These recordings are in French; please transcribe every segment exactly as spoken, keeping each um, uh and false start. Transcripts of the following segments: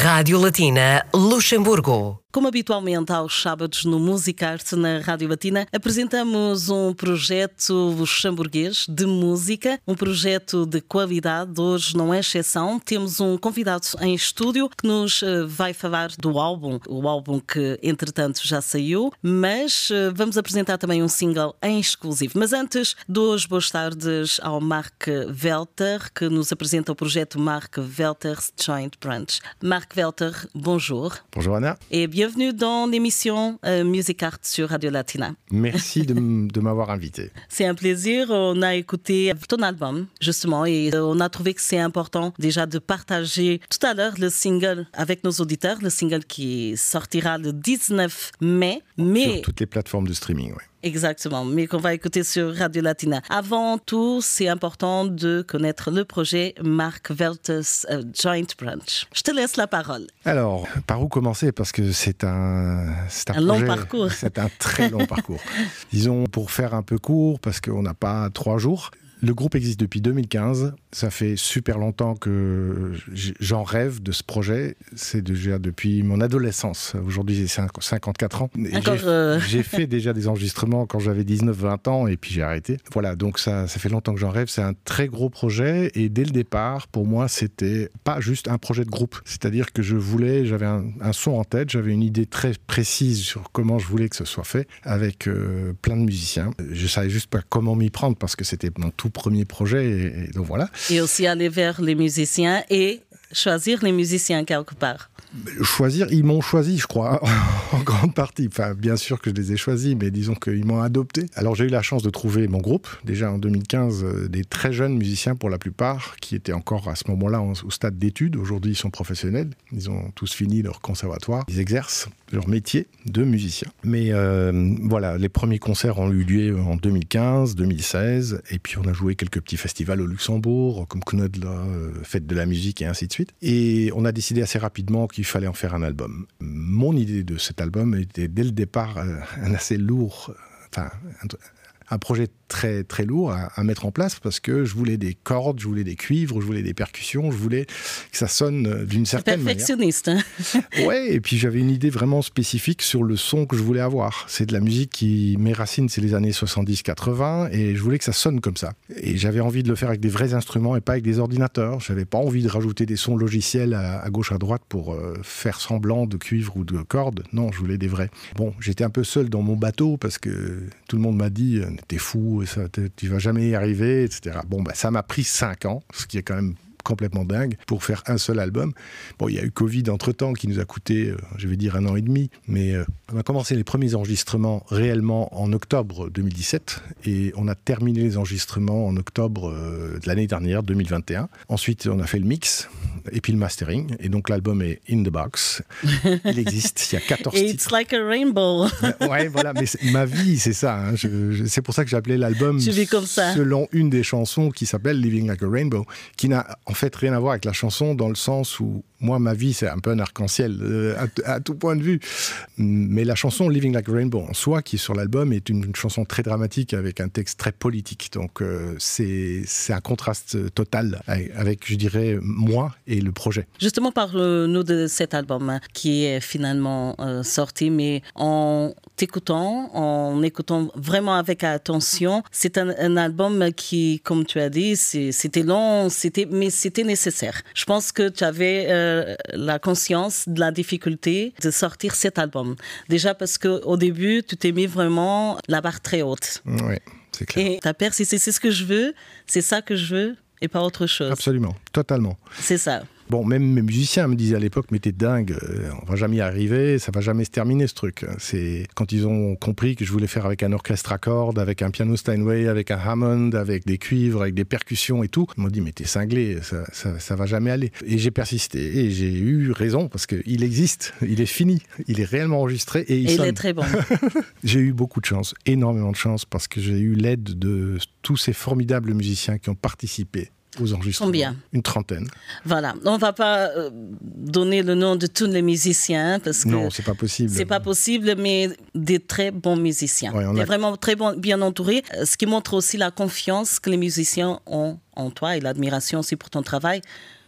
Rádio Latina Luxemburgo. Como habitualmente aos sábados no Musicarte na Rádio Latina, apresentamos um projeto luxemburguês de música, um projeto de qualidade. Hoje não é exceção, temos um convidado em estúdio que nos vai falar do álbum, o álbum que entretanto já saiu, mas vamos apresentar também um single em exclusivo. Mas antes, dou as boas tardes ao Mark Welter, que nos apresenta o projeto Mark Welter's Joint Brunch. Mark Welter, bonjour. Bonjour Anna. Et bienvenue dans l'émission euh, Musicarte sur Radio Latina. Merci de, de m'avoir invité. C'est un plaisir. On a écouté ton album, justement, et on a trouvé que c'est important déjà de partager tout à l'heure le single avec nos auditeurs, le single qui sortira le dix-neuf mai. Mais... Sur toutes les plateformes de streaming, oui. Exactement, mais qu'on va écouter sur Radio Latina. Avant tout, c'est important de connaître le projet Mark Welter's uh, Joint Brunch. Je te laisse la parole. Alors, par où commencer? Parce que c'est un, c'est un, un projet, long parcours. C'est un très long parcours. Disons, pour faire un peu court, parce qu'on n'a pas trois jours, le groupe existe depuis deux mille quinze. Ça fait super longtemps que j'en rêve de ce projet. C'est déjà depuis mon adolescence. Aujourd'hui, j'ai cinquante-quatre ans. Encore J'ai euh... fait déjà des enregistrements quand j'avais dix-neuf vingt ans et puis j'ai arrêté. Voilà, donc ça, ça fait longtemps que j'en rêve. C'est un très gros projet et dès le départ, pour moi, c'était pas juste un projet de groupe. C'est-à-dire que je voulais, j'avais un, un son en tête, j'avais une idée très précise sur comment je voulais que ce soit fait avec euh, plein de musiciens. Je savais juste pas comment m'y prendre parce que c'était mon tout premier projet et, et donc voilà. Et aussi aller vers les musiciens et choisir les musiciens quelque part. Choisir, ils m'ont choisi, je crois, en grande partie. Enfin, bien sûr que je les ai choisis, mais disons qu'ils m'ont adopté. Alors, j'ai eu la chance de trouver mon groupe, déjà en deux mille quinze, des très jeunes musiciens pour la plupart, qui étaient encore à ce moment-là au stade d'études. Aujourd'hui, ils sont professionnels. Ils ont tous fini leur conservatoire. Ils exercent leur métier de musicien. Mais euh, voilà, les premiers concerts ont eu lieu en deux mille quinze, deux mille seize, et puis on a joué quelques petits festivals au Luxembourg, comme Knödler, Fête de la musique, et ainsi de suite. Et on a décidé assez rapidement qu'il fallait en faire un album. Mon idée de cet album était dès le départ un assez lourd, enfin un, un projet très très lourd à, à mettre en place parce que je voulais des cordes, je voulais des cuivres, je voulais des percussions, je voulais que ça sonne d'une certaine manière. Perfectionniste. Hein. Ouais, et puis j'avais une idée vraiment spécifique sur le son que je voulais avoir. C'est de la musique qui, mes racines, c'est les années soixante-dix quatre-vingts et je voulais que ça sonne comme ça. Et j'avais envie de le faire avec des vrais instruments et pas avec des ordinateurs. J'avais pas envie de rajouter des sons logiciels à, à gauche à droite pour euh, faire semblant de cuivre ou de cordes. Non, je voulais des vrais. Bon, j'étais un peu seul dans mon bateau parce que tout le monde m'a dit « t'es fou, ça, tu vas jamais y arriver, et cetera » Bon, bah, ça m'a pris cinq ans, ce qui est quand même complètement dingue, pour faire un seul album. Bon, il y a eu Covid entre-temps qui nous a coûté, euh, je vais dire, un an et demi, mais euh, on a commencé les premiers enregistrements réellement en octobre deux mille dix-sept et on a terminé les enregistrements en octobre euh, de l'année dernière, deux mille vingt et un. Ensuite, on a fait le mix et puis le mastering, et donc l'album est in the box. Il existe, il y a quatorze titres. It's like a rainbow. Ouais, voilà, mais ma vie, c'est ça. Hein. Je, je, c'est pour ça que j'ai appelé l'album selon une des chansons qui s'appelle Living Like a Rainbow, qui n'a en fait rien à voir avec la chanson dans le sens où moi, ma vie, c'est un peu un arc-en-ciel euh, à, à tout point de vue. Mais la chanson Living Like a Rainbow en soi, qui est sur l'album, est une, une chanson très dramatique avec un texte très politique. Donc, euh, c'est, c'est un contraste total avec, avec, je dirais, moi et le projet. Justement, parle-nous de cet album hein, qui est finalement euh, sorti, mais en t'écoutant, en écoutant vraiment avec attention, c'est un, un album qui, comme tu as dit, c'est, c'était long, c'était, mais c'était nécessaire. Je pense que tu avais... Euh, la conscience de la difficulté de sortir cet album. Déjà parce qu'au début, tu t'es mis vraiment la barre très haute. Oui, c'est clair. Et ta persisté, c'est ce que je veux, c'est ça que je veux et pas autre chose. Absolument, totalement. C'est ça. Bon, même mes musiciens me disaient à l'époque, mais t'es dingue, on va jamais y arriver, ça va jamais se terminer ce truc. C'est quand ils ont compris que je voulais faire avec un orchestre à cordes, avec un piano Steinway, avec un Hammond, avec des cuivres, avec des percussions et tout, ils m'ont dit, mais t'es cinglé, ça, ça, ça va jamais aller. Et j'ai persisté, et j'ai eu raison, parce qu'il existe, il est fini, il est réellement enregistré, et il et sonne. Il est très bon. J'ai eu beaucoup de chance, énormément de chance, parce que j'ai eu l'aide de tous ces formidables musiciens qui ont participé aux enregistrements. Combien? Une trentaine. Voilà. On ne va pas euh, donner le nom de tous les musiciens parce que non, c'est pas possible. C'est pas possible, mais des très bons musiciens. Ouais, on a... a... vraiment très bon, bien entourés, ce qui montre aussi la confiance que les musiciens ont en toi et l'admiration aussi pour ton travail.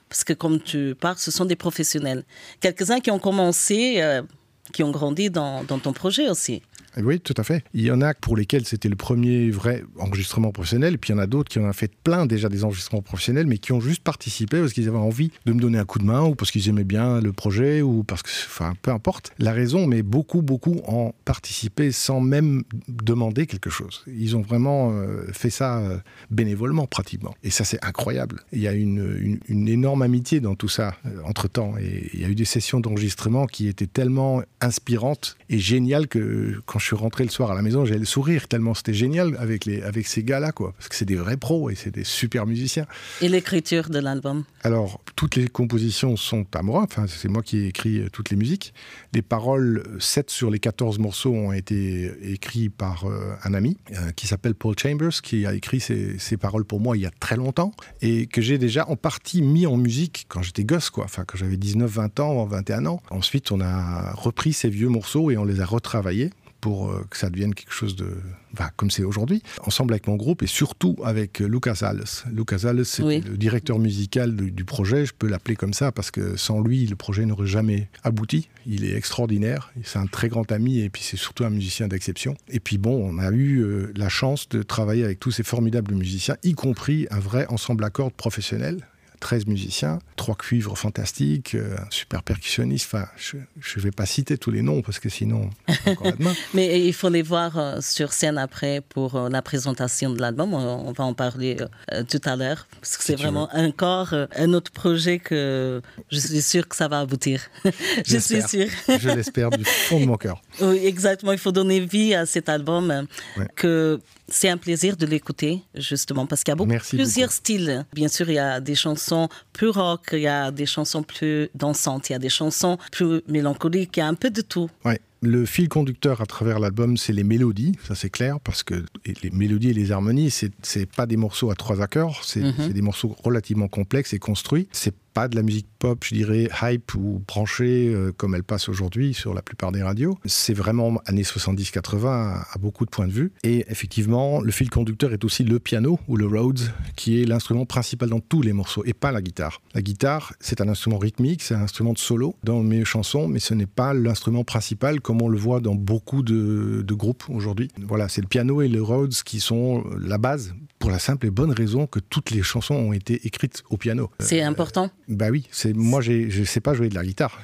Parce que comme tu parles, ce sont des professionnels. Quelques-uns qui ont commencé, euh, qui ont grandi dans, dans ton projet aussi. Oui, tout à fait. Il y en a pour lesquels c'était le premier vrai enregistrement professionnel, et puis il y en a d'autres qui en ont fait plein déjà des enregistrements professionnels, mais qui ont juste participé parce qu'ils avaient envie de me donner un coup de main, ou parce qu'ils aimaient bien le projet, ou parce que, enfin, peu importe la raison, mais beaucoup, beaucoup ont participé sans même demander quelque chose. Ils ont vraiment euh, fait ça euh, bénévolement, pratiquement. Et ça, c'est incroyable. Il y a une, une, une énorme amitié dans tout ça, euh, entre-temps. Et il y a eu des sessions d'enregistrement qui étaient tellement inspirantes et géniales que quand je suis rentré le soir à la maison, j'avais le sourire tellement c'était génial avec, les, avec ces gars-là, quoi. Parce que c'est des vrais pros et c'est des super musiciens. Et l'écriture de l'album? Alors, toutes les compositions sont à moi. Enfin, c'est moi qui ai écrit euh, toutes les musiques. Les paroles, sept sur les quatorze morceaux ont été écrits par euh, un ami euh, qui s'appelle Paul Chambers, qui a écrit ces, ces paroles pour moi il y a très longtemps et que j'ai déjà en partie mis en musique quand j'étais gosse, quoi. Enfin, quand j'avais dix-neuf, vingt ans, vingt et un ans. Ensuite, on a repris ces vieux morceaux et on les a retravaillés pour que ça devienne quelque chose de... Enfin, comme c'est aujourd'hui, ensemble avec mon groupe et surtout avec Lucas Alves. Lucas Alves, c'est oui. le directeur musical du, du projet, je peux l'appeler comme ça, parce que sans lui, le projet n'aurait jamais abouti. Il est extraordinaire, c'est un très grand ami et puis c'est surtout un musicien d'exception. Et puis bon, on a eu euh, la chance de travailler avec tous ces formidables musiciens, y compris un vrai ensemble à cordes professionnel. treize musiciens, trois cuivres fantastiques, euh, un super percussionniste. Enfin, je ne vais pas citer tous les noms parce que sinon, encore demain. Mais il faut les voir euh, sur scène après pour euh, la présentation de l'album. On, on va en parler euh, tout à l'heure parce que si c'est vraiment veux. encore euh, un autre projet que je suis sûre que ça va aboutir. je suis sûre. Je l'espère du fond de mon cœur. Oui, exactement. Il faut donner vie à cet album. Euh, ouais. que c'est un plaisir de l'écouter, justement, parce qu'il y a beaucoup, plusieurs beaucoup. styles. Bien sûr, il y a des chansons plus rock, il y a des chansons plus dansantes, il y a des chansons plus mélancoliques, il y a un peu de tout. Ouais. Le fil conducteur à travers l'album, c'est les mélodies, ça c'est clair, parce que les mélodies et les harmonies, c'est, c'est pas des morceaux à trois accords, c'est, mm-hmm. c'est des morceaux relativement complexes et construits. C'est pas de la musique pop, je dirais, hype ou branchée, euh, comme elle passe aujourd'hui sur la plupart des radios. C'est vraiment années soixante-dix quatre-vingts à, à beaucoup de points de vue. Et effectivement, le fil conducteur est aussi le piano, ou le Rhodes, qui est l'instrument principal dans tous les morceaux, et pas la guitare. La guitare, c'est un instrument rythmique, c'est un instrument de solo dans mes chansons, mais ce n'est pas l'instrument principal, comme on le voit dans beaucoup de, de groupes aujourd'hui. Voilà, c'est le piano et le Rhodes qui sont la base, pour la simple et bonne raison que toutes les chansons ont été écrites au piano. C'est euh, important. Bah oui, c'est, moi j'ai, je ne sais pas jouer de la guitare.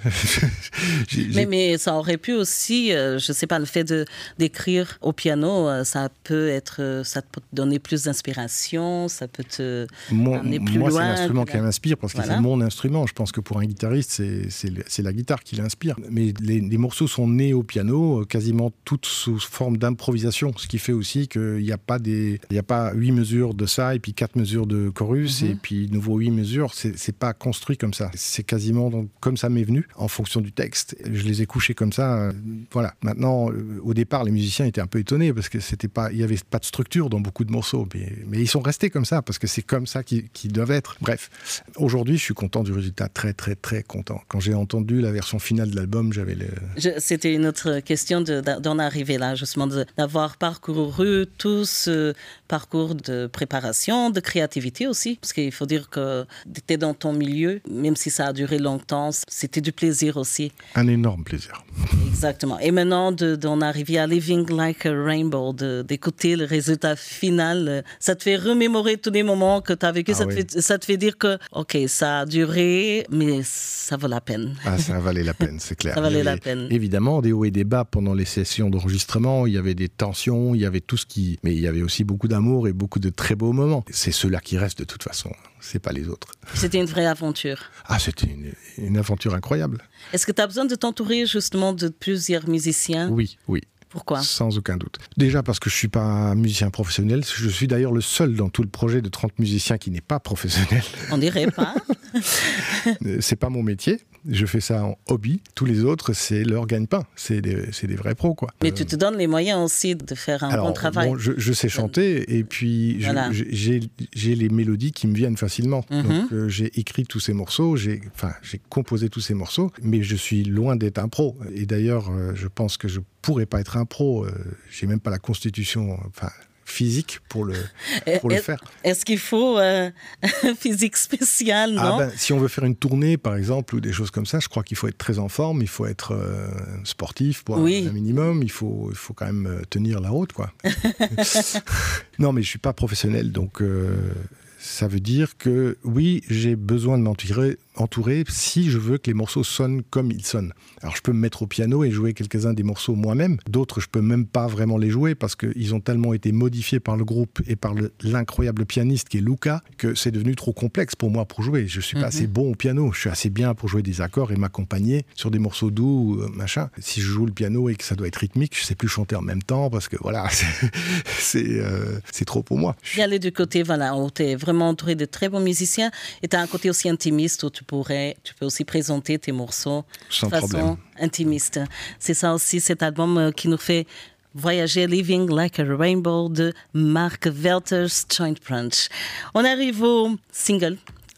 j'ai, mais, mais ça aurait pu aussi, euh, je ne sais pas, le fait de, d'écrire au piano, euh, ça peut être, ça peut te donner plus d'inspiration, ça peut te mon, amener plus moi, loin. Moi c'est l'instrument qui m'inspire parce que voilà. c'est mon instrument. Je pense que pour un guitariste, c'est, c'est, c'est la guitare qui l'inspire. Mais les, les morceaux sont nés au piano, quasiment toutes sous forme d'improvisation, ce qui fait aussi qu'il n'y a pas des, il n'y a pas huit mesures de ça et puis quatre mesures de chorus mm-hmm. et puis nouveau huit mesures. C'est, c'est pas construit comme ça. C'est quasiment donc, comme ça m'est venu, en fonction du texte. Je les ai couchés comme ça. Euh, voilà. Maintenant, euh, au départ, les musiciens étaient un peu étonnés parce que c'était pas, il n'y avait pas de structure dans beaucoup de morceaux. Mais, mais ils sont restés comme ça parce que c'est comme ça qu'ils, qu'ils doivent être. Bref. Aujourd'hui, je suis content du résultat. Très, très, très content. Quand j'ai entendu la version finale de l'album, j'avais le... Je, c'était une autre question de, d'en arriver là, justement, de, d'avoir parcouru tout ce parcours de préparation, de créativité aussi. Parce qu'il faut dire que tu étais dans ton milieu, même si ça a duré longtemps, c'était du plaisir aussi. Un énorme plaisir. Exactement. Et maintenant, de, d'en arriver à Living Like a Rainbow, de, d'écouter le résultat final, ça te fait remémorer tous les moments que tu as vécu, ah ça, oui. te fait, ça te fait dire que, OK, ça a duré, mais ça vaut la peine. Ah, ça valait la peine, c'est clair. Ça valait la peine. Évidemment, des hauts et des bas pendant les sessions d'enregistrement, il y avait des tensions, il y avait tout ce qui... Mais il y avait aussi beaucoup d'amour et beaucoup de très beaux moments. C'est ceux-là qui restent de toute façon. C'est pas les autres. C'était une vraie aventure. Ah, c'était une, une aventure incroyable. Est-ce que tu as besoin de t'entourer justement de plusieurs musiciens ? Oui, oui. Pourquoi ? Sans aucun doute. Déjà parce que je ne suis pas un musicien professionnel. Je suis d'ailleurs le seul dans tout le projet de trente musiciens qui n'est pas professionnel. On dirait pas. C'est pas mon métier. Je fais ça en hobby. Tous les autres, c'est leur gagne-pain. C'est des, c'est des vrais pros, quoi. Mais euh... tu te donnes les moyens aussi de faire un Alors, bon travail. Bon, je, je sais chanter et puis voilà. je, j'ai, j'ai les mélodies qui me viennent facilement. Mm-hmm. Donc euh, j'ai écrit tous ces morceaux, j'ai, enfin, j'ai composé tous ces morceaux, mais je suis loin d'être un pro. Et d'ailleurs, euh, je pense que je pourrais pas être un pro. Euh, j'ai même pas la constitution... Enfin, physique pour le, pour est, le faire. Est-ce qu'il faut euh, un physique spécial, non? Ah ben, si on veut faire une tournée, par exemple, ou des choses comme ça, je crois qu'il faut être très en forme, il faut être euh, sportif pour oui. un, un minimum, il faut, il faut quand même tenir la route, quoi. Non, mais je ne suis pas professionnel, donc euh, ça veut dire que oui, j'ai besoin de m'entourer entouré si je veux que les morceaux sonnent comme ils sonnent. Alors je peux me mettre au piano et jouer quelques-uns des morceaux moi-même, d'autres je peux même pas vraiment les jouer parce qu'ils ont tellement été modifiés par le groupe et par le, l'incroyable pianiste qui est Luca que c'est devenu trop complexe pour moi pour jouer. Je suis pas mm-hmm. assez bon au piano, je suis assez bien pour jouer des accords et m'accompagner sur des morceaux doux, machin. Si je joue le piano et que ça doit être rythmique, je sais plus chanter en même temps parce que voilà, c'est, c'est, euh, c'est trop pour moi. Il y a les deux côtés, voilà, où tu es vraiment entouré de très bons musiciens et tu as un côté aussi intimiste où tu pourrais, tu peux aussi présenter tes morceaux Sans de façon problème. intimiste. C'est ça aussi, cet album qui nous fait voyager, Living Like a Rainbow de Mark Velter's Joint Brunch. On arrive au single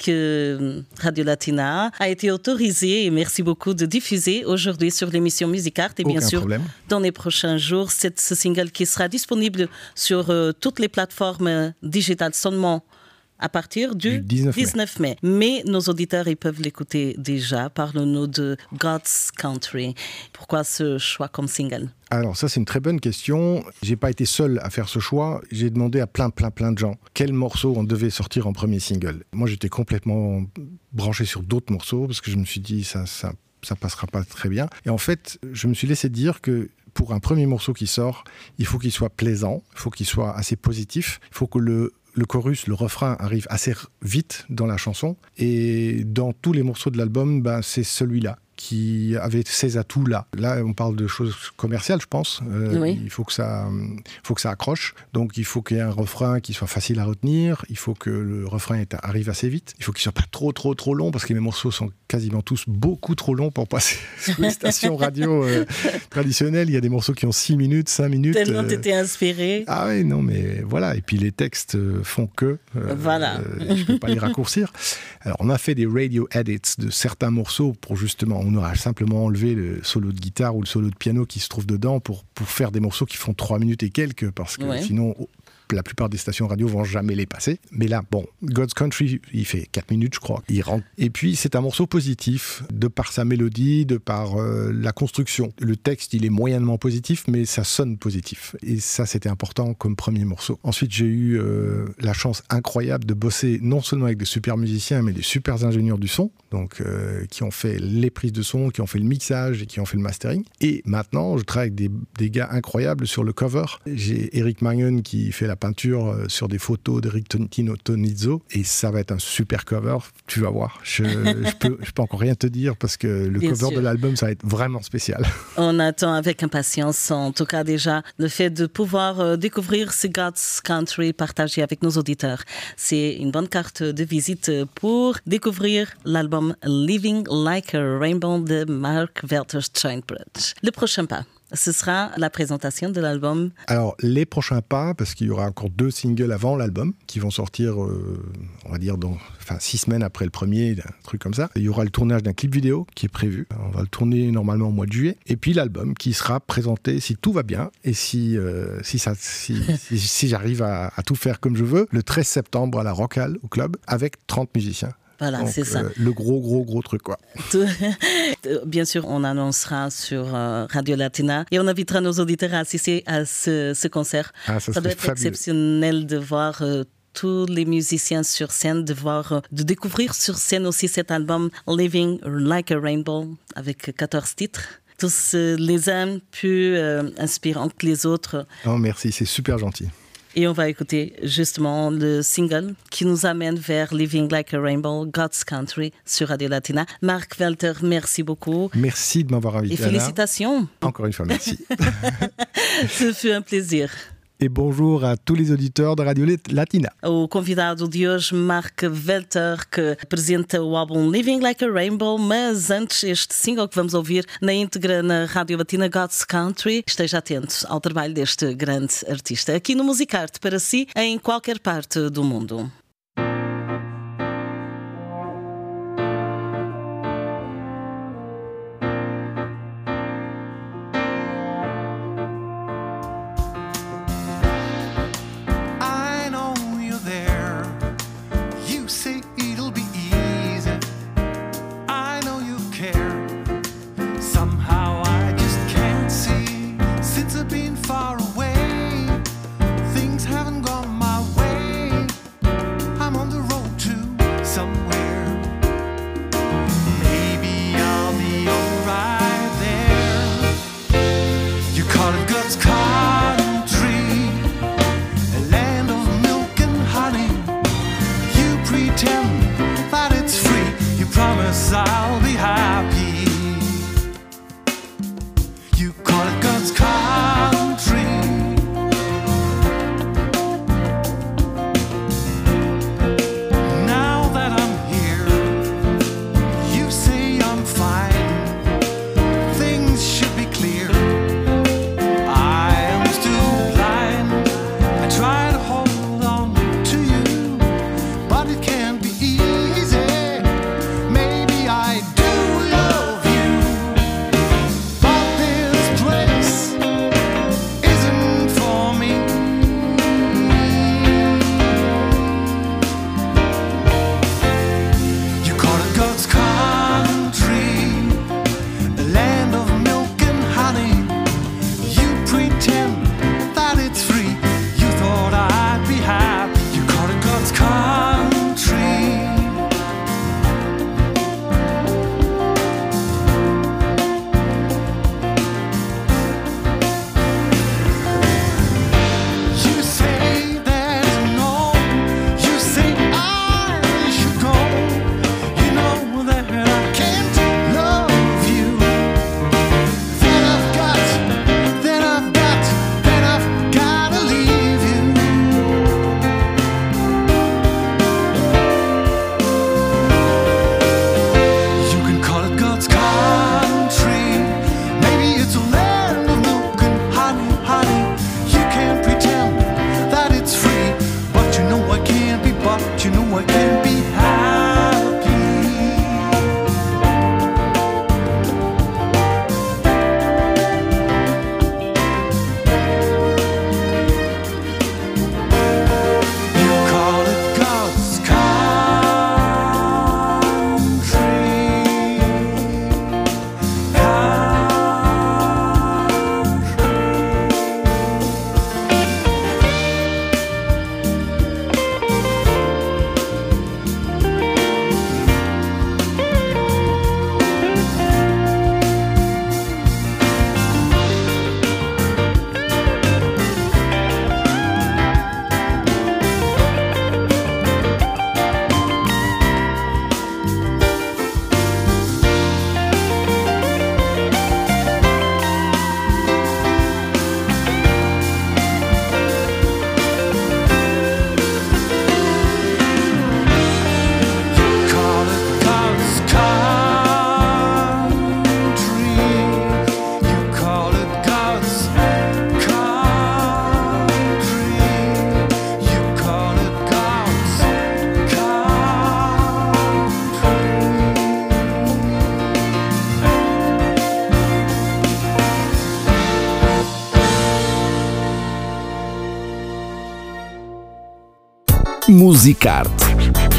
que Radio Latina a été autorisé, et merci beaucoup de diffuser aujourd'hui sur l'émission Musicart et bien Aucun sûr problème. Dans les prochains jours, c'est ce single qui sera disponible sur euh, toutes les plateformes digitales seulement à partir du, du dix-neuf, dix-neuf mai. mai. Mais nos auditeurs, ils peuvent l'écouter déjà. Parle-nous de God's Country. Pourquoi ce choix comme single? Alors ça, c'est une très bonne question. J'ai pas été seul à faire ce choix. J'ai demandé à plein, plein, plein de gens quel morceau on devait sortir en premier single. Moi, j'étais complètement branché sur d'autres morceaux parce que je me suis dit ça, ça, ça passera pas très bien. Et en fait, je me suis laissé dire que pour un premier morceau qui sort, il faut qu'il soit plaisant, il faut qu'il soit assez positif, il faut que le Le chorus, le refrain arrive assez vite dans la chanson. Et dans tous les morceaux de l'album, ben, c'est celui-là qui avait ces atouts-là. Là, on parle de choses commerciales, je pense. Euh, oui. Il faut que ça, faut que ça accroche. Donc, il faut qu'il y ait un refrain qui soit facile à retenir. Il faut que le refrain arrive assez vite. Il faut qu'il soit pas trop, trop, trop long, parce que mes morceaux sont quasiment tous beaucoup trop longs pour passer sur les stations radio euh, traditionnelles. Il y a des morceaux qui ont six minutes, cinq minutes. Tellement euh... t'étais inspiré. Ah oui, non, mais voilà. Et puis, les textes font que... Euh, voilà. Euh, je peux pas les raccourcir. Alors, on a fait des radio edits de certains morceaux pour justement... On aura simplement enlevé le solo de guitare ou le solo de piano qui se trouve dedans pour, pour faire des morceaux qui font trois minutes et quelques, parce que ouais. sinon... la plupart des stations radio vont jamais les passer. Mais là, bon, God's Country, il fait quatre minutes, je crois. Il rentre. Et puis, c'est un morceau positif, de par sa mélodie, de par euh, la construction. Le texte, il est moyennement positif, mais ça sonne positif. Et ça, c'était important comme premier morceau. Ensuite, j'ai eu euh, la chance incroyable de bosser non seulement avec des super musiciens, mais des super ingénieurs du son, donc euh, qui ont fait les prises de son, qui ont fait le mixage et qui ont fait le mastering. Et maintenant, je travaille avec des, des gars incroyables sur le cover. J'ai Eric Mangen qui fait la peinture sur des photos d'Eric Tino Tonizzo et ça va être un super cover, tu vas voir. Je, je, peux, je peux encore rien te dire parce que le Bien cover sûr. de l'album, ça va être vraiment spécial. On attend avec impatience, en tout cas déjà, le fait de pouvoir découvrir ce God's Country partagé avec nos auditeurs. C'est une bonne carte de visite pour découvrir l'album Living Like a Rainbow de Mark Velter's Joint Brunch. Le prochain pas, ce sera la présentation de l'album. Alors, les prochains pas, parce qu'il y aura encore deux singles avant l'album, qui vont sortir, euh, on va dire, dans, enfin, six semaines après le premier, un truc comme ça. Il y aura le tournage d'un clip vidéo qui est prévu. On va le tourner normalement au mois de juillet. Et puis l'album qui sera présenté, si tout va bien, et si, euh, si, ça, si, si, si j'arrive à, à tout faire comme je veux, le treize septembre à la Rock Hall, au club, avec trente musiciens. Voilà, donc, c'est ça. Euh, le gros, gros, gros truc, quoi. Bien sûr, on annoncera sur euh, Radio Latina et on invitera nos auditeurs à assister à ce, ce concert. Ah, ça, ça doit être fabuleux. Exceptionnel de voir euh, tous les musiciens sur scène, de voir, euh, de découvrir sur scène aussi cet album Living Like a Rainbow avec quatorze titres. Tous euh, les uns plus euh, inspirants que les autres. Oh, merci, c'est super gentil. Et on va écouter justement le single qui nous amène vers Living Like a Rainbow, God's Country sur Radio Latina. Mark Velter, merci beaucoup. Merci de m'avoir invité. Et félicitations. Anna. Encore une fois, merci. Ce fut un plaisir. E bonjour a tous os auditeurs da Radio Latina. O convidado de hoje, Mark Velter, que apresenta o álbum Living Like a Rainbow, mas antes este single que vamos ouvir na íntegra na Rádio Latina, God's Country. Esteja atento ao trabalho deste grande artista aqui no Musicarte para si em qualquer parte do mundo. Musicarte.